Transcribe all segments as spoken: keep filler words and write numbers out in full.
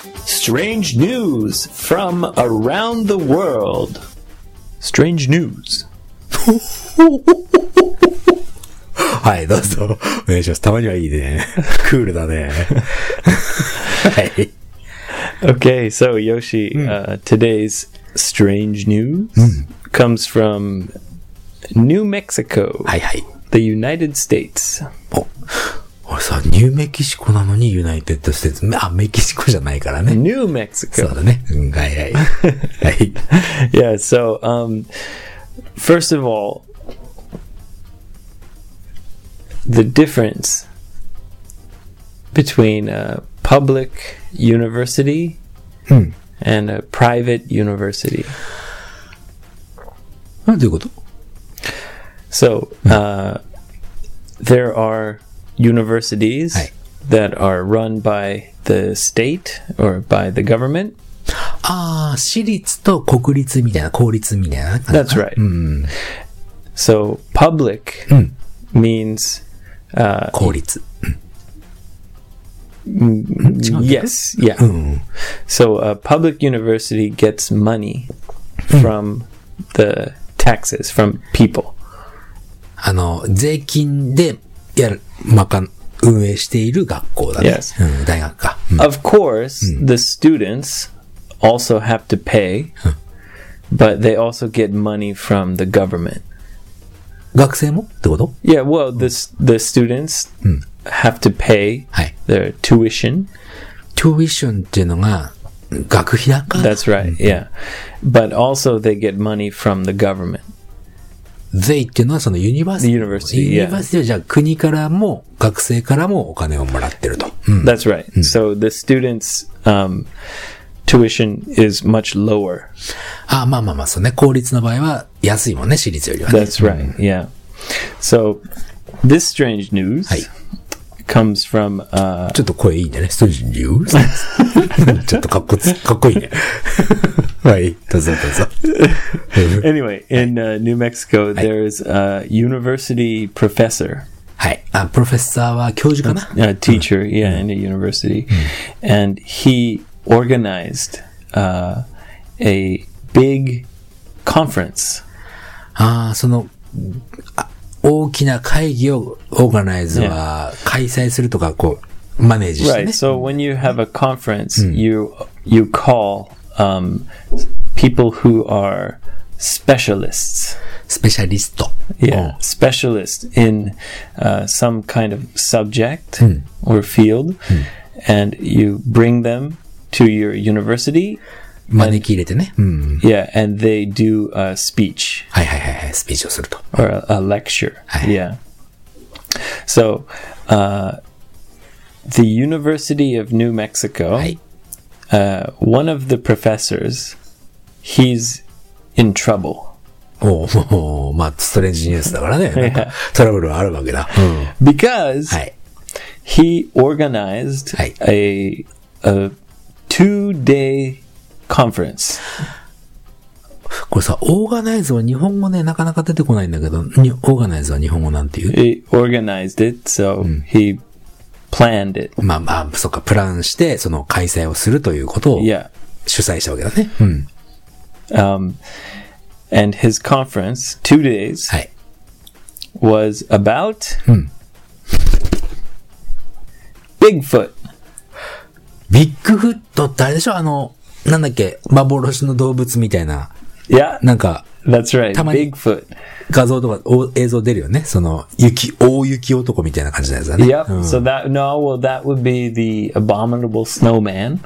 Strange news from around the world. Strange news. はい、どうぞ。お願いします。たまにはいいね。クールだね。はい。 Okay, so Yoshi, mm. uh, today's strange news mm. comes from New Mexico, はいはい。 the United States. お、俺さ、ニューメキシコなのにユナイテッドステーツ。あ、メキシコじゃないからね。 New Mexico. そうだね。うん、はいはい。はい。 Yeah, so, um, first of all, the difference between a public university mm. and a private university. どういうこと? So, uh, there are universities はい。 that are run by the state or by the government. ああ、私立と国立みたいな、公立みたいな。 That's right. うん。 So, public うん。 means, uh, 公立。 yes, yeah. うん。 So, a public university gets money from the taxes, from people. あの、税金でやる、まかん、運営している学校だね。 Yes. うん、大学か。うん、 Of course, the students also have to pay, but they also get money from the government. 学生もってこと? Yeah, well, the, the students have to pay はい。 their tuition. tuition っていうのが、学費だか? That's right, yeah. But also they get money from the government. They っていうのはそのユニバーシティ。 The university, ユニバーシティはじゃあ国からも学生からもお金をもらってると。うん、 That's right. So the students' um, tuition is much lower. あ、まあまあまあ、そうね。公立の場合は安いもんね、私立よりは、ね。 That's right, yeah. So this strange news はい。 comes from... Uh, ちょっと声いいね。strange news? ちょっとかっこつ、かっこいいね。はい、どうぞどうぞ。 Anyway, in uh, New Mexico, there's a university professor. はい。あ、プロフェッサーは教授かな? A teacher, yeah, in a university. And he organized uh, a big conference. ああ、その、あ、大きな会議をオーガナイズは開催するとか、こう、マネージしてね。 Right, so when you have a conference, you, you call um, people who are specialists. スペシャリスト。 Yeah, specialists in uh, some kind of subject or field, and you bring them to your university. 招き入れてね。うん。 Yeah, and they do a speech はいはいはいはい、スピーチをすると。 or a, a lecture. はい。 Yeah. So, uh, the University of New Mexico, はい。 uh, one of the professors, he's in trouble. おう、もう、まあ、ストレンジニュースだからね。なんかトラブルはあるわけだ。うん。 Because はい。 he organized はい。 a, a two-day conference. これさ、オーガナイズは日本語ね、なかなか出てこないんだけど、にオーガナイズは日本語なんていう? He organized it, so he planned it. まあまあ、そっか、プランして、その開催をするということを Yeah. 主催したわけだね。うん。 Um, and his conference, two days, はい。 was about うん。 Bigfoot. ビッグフットってあれでしょ? あの、なんだっけ、幻の動物みたいな。 Yeah, なんか、 that's right. たまに Bigfoot. 画像とかお映像出るよね。その、雪、大雪男みたいな感じのやつだね。 Yep. うん、 So that, no, well, that would be the abominable snowman.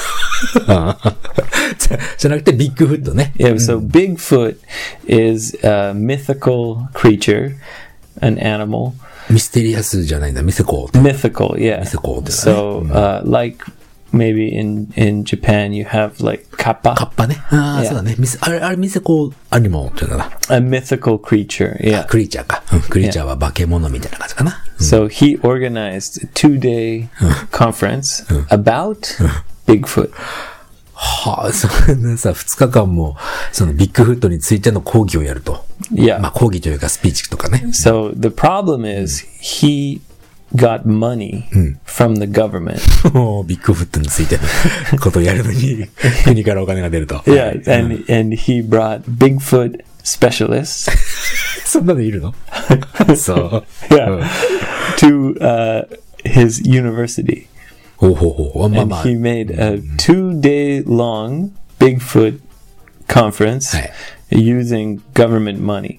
じゃ、じゃなくてビッグフットね。 Yeah, so Bigfoot is a mythical creature, an animal. ミステリアスじゃないんだ。ミセコーって。 Mythical, yeah. Mythical ってね。 So, uh, like maybe in, in Japan you have like kappa, カッパね。ああ、 Yeah. そうだね。ミセ、あれ、あれミセコアニモっていうのかな。 a mythical creature, yeah. クリーチャーか。うん、クリーチャーは化け物みたいな感じかな。 So he organized a two-day conference about Bigfoot. はあ、そんなさ、二日間も、そのビッグフットについての講義をやると。 Yeah. まあ講義というかスピーチとかね。 So the problem is he got money from the government. もうビッグフットについてのことをやるのに国からお金が出ると。 Yeah, and and he brought Bigfoot specialists. そんなのいるの？そう。 Yeah, to uh, his university. ほうほうほう。まあ And まあ。 he made a two-day long Bigfoot conference はい。 using government money.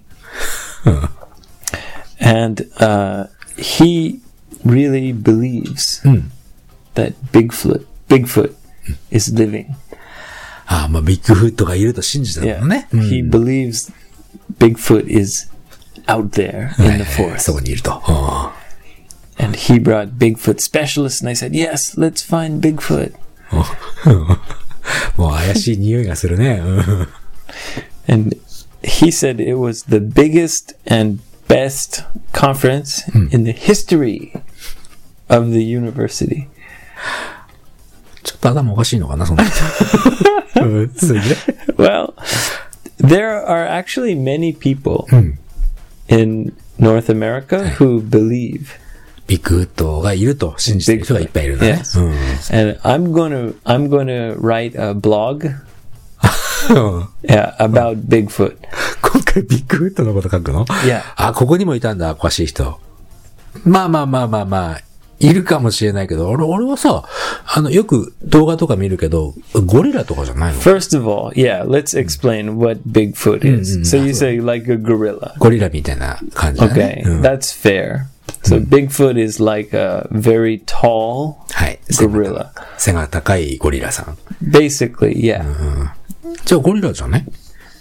And uh, he really believes that Bigfoot, Bigfoot is living. ああ、まあビッグフットがいると信じた Yeah, のね。 he believes Bigfoot is out there in the そ forest. こにいると。あ And he brought Bigfoot specialists, and I said, "Yes, let's find Bigfoot." あもう怪しい匂いがするね。うん And he said it was the biggest and best conference in the history of the university. ちょっと頭おかしいのかな、そんな人。うんそれで Well, there are actually many people in North America who believe. ビッグフットがいると信じてる人がいっぱいいるんだね。 Yes. And I'm going to I'm going to write a blog うん yeah, about Bigfoot. 今回ビッグフットのこと書くの？ Yeah. あ、ここにもいたんだ、おかしい人。まあまあまあまあまあ、いるかもしれないけど、俺、俺はさ、あの、よく動画とか見るけど、ゴリラとかじゃないの？ First of all, yeah, let's explain what Bigfoot is. So you say like a gorilla. ゴリラみたいな感じだね。 Okay, うん that's fair. So Bigfoot is like a very tall はい。 gorilla. 背が高いゴリラさん。 Basically, yeah. じゃあゴリラじゃね？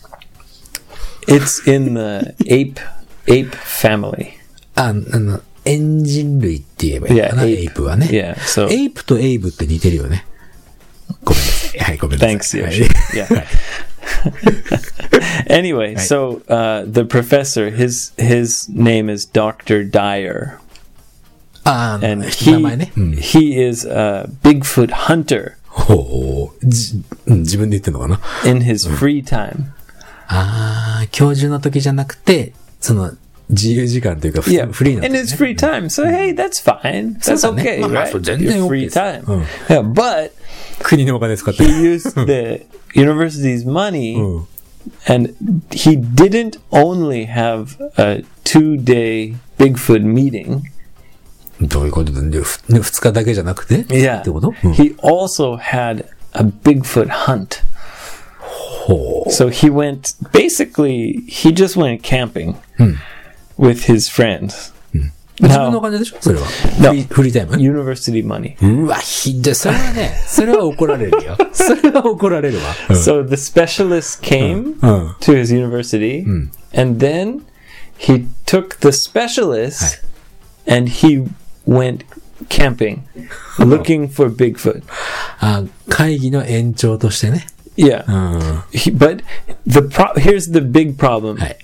It's in the ape ape family. あ、あの、エンジン類って言えばいいのかな、 Yeah, エイプはね。 Yeah, so エイプとエイブって似てるよね。ごめんなさい。はい、ごめんなさい。 thanks, はい Yoshi. Yeah. Anyway, so uh, the professor, his his name is Doctor Dyer, ああ、 and 名前ね。うん he he is a Bigfoot hunter ほう、じうん自分で言ってんのかな。 in his free time. ああ、教授の時じゃなくて、その、自由時間というか、 Yeah, フリーな in 時 his free time. So hey, that's fine. That's そうだね。 okay, まあまあ right? そう全然 Your OK free です。 time. うん Yeah, but 国のお金使って he used the university's money, うん and he didn't only have a two-day Bigfoot meeting. どういうことだね。ふね二日だけじゃなくて Yeah, ってこと、うん he also had a Bigfoot hunt. ほう。 So he went, basically, he just went camping with his friends. 自分のお Now, 金でしょそれは。 No. フリーフリータイム university money. うわ、ひどい。それはね、それは怒られるよ。それは怒られるわ。 So the specialist came うん。 to his university, and then he took the specialist and he went camping, looking for Bigfoot. あ、会議の延長としてね。 Yeah, うん。 he, but the pro- here's the big problem. はい。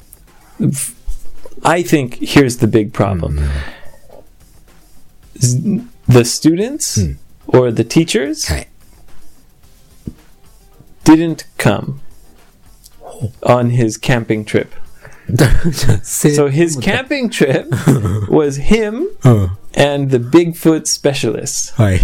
I think here's the big problem. Z- The students or the teachers はい。 didn't come on his camping trip. だじゃあせ So his camping trip was him うん。 and the Bigfoot specialists. はい。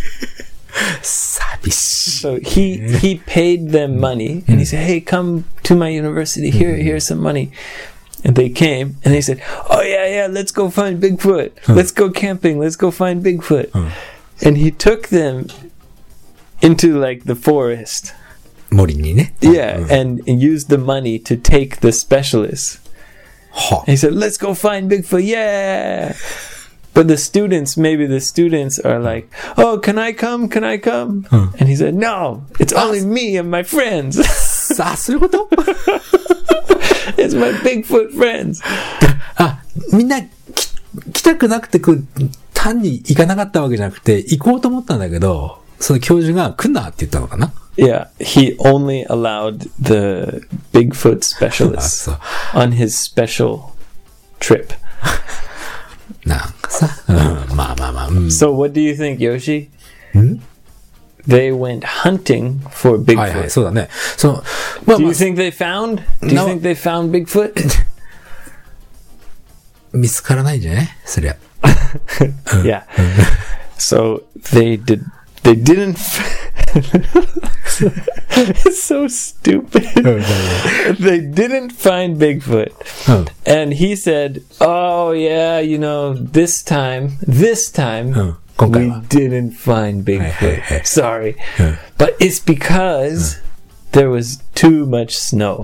寂しい。 So he he paid them money and he said, "Hey, come to my university. Here, here's some money." And they came and they said, "Oh yeah, yeah, let's go find Bigfoot. Let's go camping. Let's go find Bigfoot." And he took them into like the forest. 森にね。 Yeah, and, and used the money to take the specialists. は And he said, "Let's go find Bigfoot. Yeah." But the students, maybe the students are like, "Oh, can I come? Can I come?" And he said, "No, it's only me and my friends. さあ、そういうこと It's my Bigfoot friends." あ、みんなき来たくなくてこう、単に行かなかったわけじゃなくて、行こうと思ったんだけど、その教授が来んなって言ったのかな Yeah, he only allowed the Bigfoot specialists Ah, on his special trip. なんかさ、うん、まあまあまあ、うん So what do you think, Yoshi? They went hunting for はいはい、 Bigfoot. そうだね。その、まあ Do ま you あ、 think they found? Do you No. think they found Bigfoot? 見つからないんじゃないそりゃ。 Yeah. So they did. They didn't. It's so stupid. They didn't find Bigfoot, Oh. and he said, "Oh yeah, you know, this time, this time, Oh. 今回 we は didn't find Hey, Bigfoot. hey, hey. Sorry, Yeah. but it's because there was too much snow."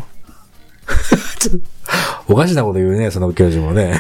おかしなこと言うね、その教授もね。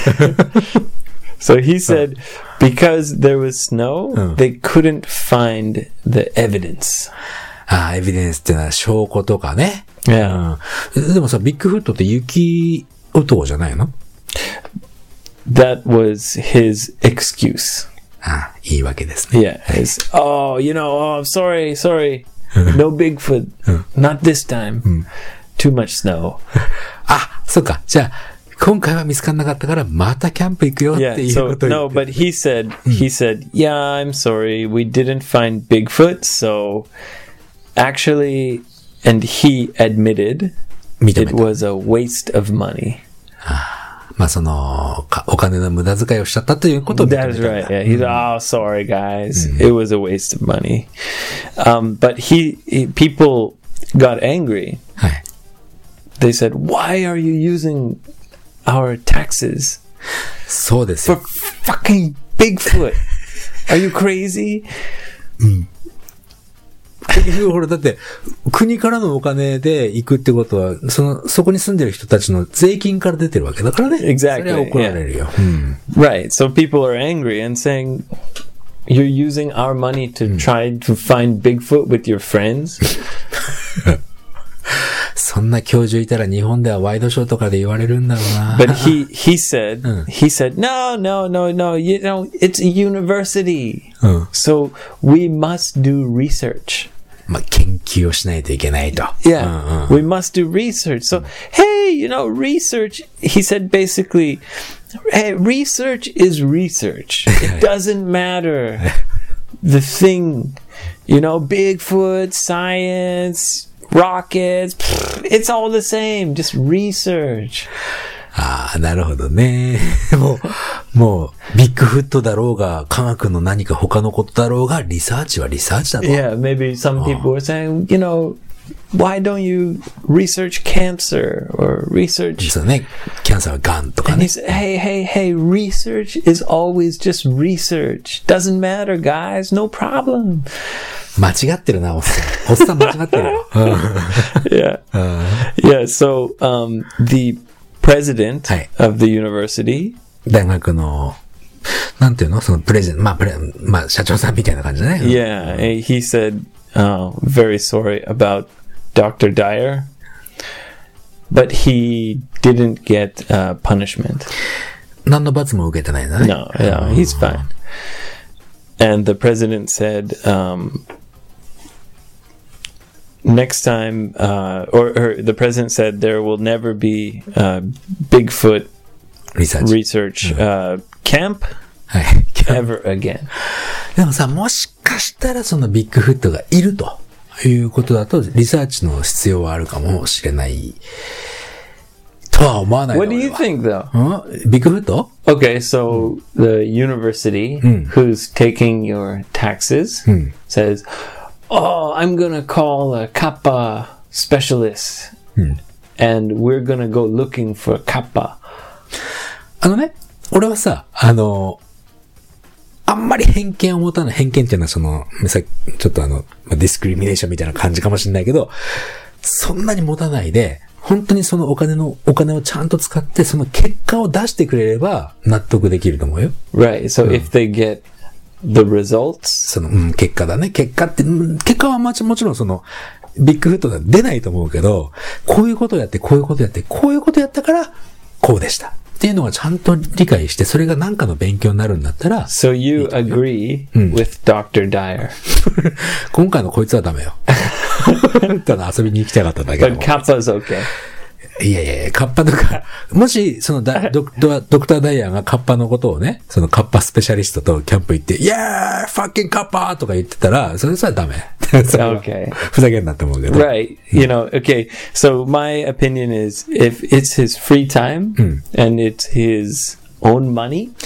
So he said, because there was snow, Oh. they couldn't find the evidence. ああ、エビデンスってのは証拠とかね。 Yeah. うんでもさ、ビッグフットって雪男じゃないの？ That was his excuse. ああ、いいわけですね。 Yeah. His, oh, you know, oh, I'm sorry, sorry. No Bigfoot. Not this time. Too much snow. あ、そっか。じゃあ、今回は見つからなかったから、またキャンプ行くよって Yeah. いう So ことを言 no, って。 but he said, he said, yeah, I'm sorry. We didn't find Bigfoot. So actually, and he admitted 認め it た。 was a waste of money. まあその、かお金の無駄遣いをしちゃったということを認めた That ん is だ。 right. Yeah, he's oh sorry guys, it was a waste of money. Um, but he, he people got angry. はい。 They said, "Why are you using our taxes そうですよ for。fucking Bigfoot? Are you crazy?" 結局ほら、だって、国からのお金で行くってことは、その、そこに住んでる人たちの税金から出てるわけだからね。 Exactly, それは怒られるよ。うん Right. So people are angry and saying, "You're using our money to try to find Bigfoot with your friends." そんな教授いたら日本ではワイドショーとかで言われるんだろうな。 But he he said he said, "No, no, no, no. You know, it's a university, うん。 so we must do research." まあ、研究をしないといけないと。 Yeah, うんうん we must do research. So, hey, you know, research, he said basically, hey, research is research. It doesn't matter. The thing, you know, Bigfoot, science, rockets, pfft, it's all the same. Just research. ああ、なるほどね。もう、もう、ビッグフットだろうが、科学の何か他のことだろうが、リサーチはリサーチだと。 Yeah, maybe some people were saying, you know, why don't you research cancer or research? そうね。キャンサーはガンとか And ね he。said, hey, hey, hey, research is always just research. Doesn't matter, guys. No problem. 間違ってるな、おっさん。おっさん間違ってるよ。うん Yeah. Yeah. So, um, the president Hey. of the university, 大学の、なんていうのそのプレゼン、まあ、プレ、まあ、社長さんみたいな感じだね。 yeah, he said, uh, very sorry about Doctor Dyer, but he didn't get uh, punishment. 何の罰も受けてないんだね。 No, yeah, he's fine. And the president said, um, next time, uh, or, or the president said there will never be uh, Bigfoot リサーチ。 research uh, camp はい。 ever again. でもさ、もしかしたらそのビッグフットがいるということだと、リサーチの必要はあるかもしれないとは思わないの What do you 俺は think, though? うんビッグフット Okay, so the university who's taking your taxes says, "Oh, I'm gonna call a kappa specialist, and we're gonna go looking for kappa." あのね、俺はさ、あの、あんまり偏見を持たない、偏見っていうのはその、さちょっとあの、まあディスクリミネーションみたいな感じかもしれないけど、そんなに持たないで、本当にそのお金の、お金をちゃんと使って、その結果を出してくれれば納得できると思うよ。 Right. So if they get the results, その、うん、結果だね。結果って、うん結果はもちもちろんその、ビッグフットでは出ないと思うけど、こういうことやって、こういうことやって、こういうことやったから、こうでした。っていうのがちゃんと理解して、それが何かの勉強になるんだったら、 so you agree with Doctor Dyer, 今回のこいつはダメよ。ただ遊びに行きたかっただけだ but もん。 kappa's okay. いやいやいや、カッパとか、もし、そのだドクドドクターダイヤーがカッパのことをね、そのカッパスペシャリストとキャンプ行って、イエーイファッキンカッパとか言ってたら、それさダメ。それは Okay. ふざけんなって思うけど。 Right. You know, okay. So my opinion is if it's his free time and it's his own money,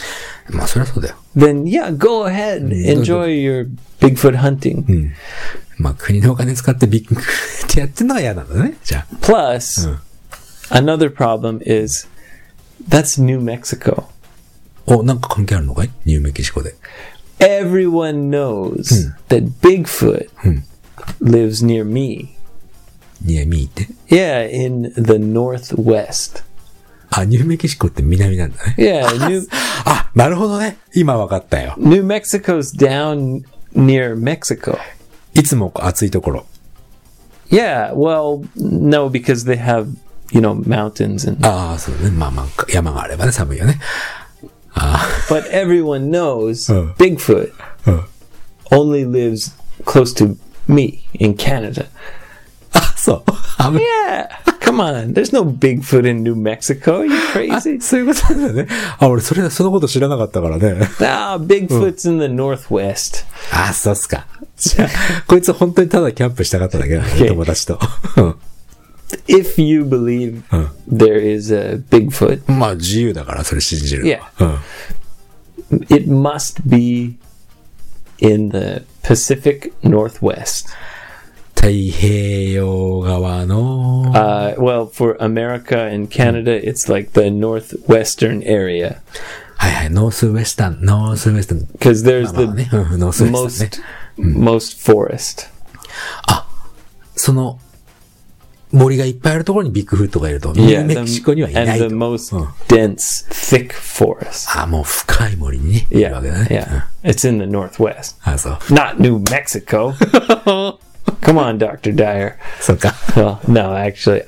まあそりゃそうだよ。 then yeah, go ahead, enjoy your Bigfoot hunting. うん。まあ国のお金使ってビッグってやってんのが嫌なんだね。じゃあ。 Plus, うん。 another problem is that's New Mexico. お、なんか関係あるのかい？ニューメキシコで。 Everyone knows that Bigfoot lives near me. near me って？ Yeah, in the northwest. あ、ニューメキシコって南なんだね。 Yeah, New あ、なるほどね。今わかったよ。 New Mexico's down near Mexico. いつも暑いところ。 Yeah, well, no, because they have, you know, mountains and. ああ、そうね。まあまあ、山があればね、寒いよね。あ But everyone knows Uh. Bigfoot あ、うん。 only lives close to me in Canada. あ、そう。あ、 Yeah, come on. There's no Bigfoot in New Mexico. Are you あ crazy? そういうことなんだね。あ、俺それ、そのこと知らなかったからね。 Nah, Bigfoot's in the northwest. あ、そうっすか。じゃあ、こいつ本当にただキャンプしたかっただけだね、 Okay. 友達と。うん If you believe Uh. there is a Bigfoot, まあ自由だからそれ信じる。 Yeah. うん。 it must be in the Pacific Northwest. 太平洋側の、 Uh, well, for America and Canada, it's like the northwestern area はいはい、ノースウェスタン、ノースウェスタン。 because there's まあまあね、 the うんノースウェスタンね。 most most forest. その、森がいっぱいあるところにビッグフットがいると。ニュー Yeah, メキシコにはいな and い the と。 most うん dense, thick forest. あ、もう深い森にね。いる Yeah, わけだね。 yeah. It's in the northwest, あ、そう。 not New Mexico. Come on, Doctor Dyer. そうか。 Well, no, actually,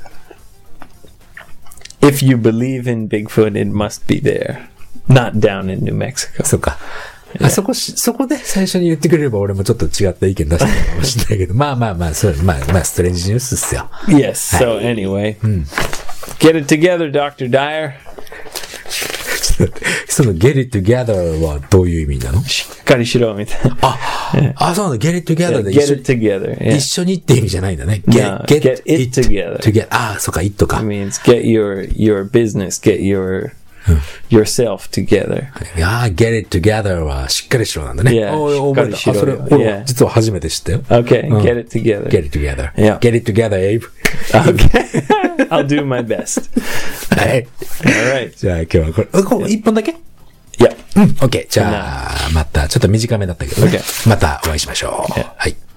if you believe in Bigfoot, it must be there, not down in New Mexico. そうか。あそこし、そこで最初に言ってくれれば俺もちょっと違った意見出したかもしれないけど、まあまあまあ、そう、まあまあ、ストレンジニュースっすよ。 Yes. So anyway, get it together, Doctor Dyer. ちょっと待ってその get it together はどういう意味なの？ しっかりしろみたいな。 あ、あ、そうなの get it together で一 Get 緒に it together. Yeah. 一緒にって意味じゃないんだね。 No, get it together. together. ああ、そうか、it か It。means get your your business, get your yourself together. いやー、get it together はしっかりしろなんだね。 Yeah, おい覚えた。あ、 しっかりしろそれ、 よ俺 Yeah. 実は初めて知ったよ。 Okay, うん get it together. get it together. Yeah. get it together, Abe. Okay. I'll do my best. はい。 All right. じゃあ今日はこれ、うんこう一本だけ Yeah. うん。OK。じゃあ、また、ちょっと短めだったけどね。 OK またお会いしましょう。 Yeah. はい。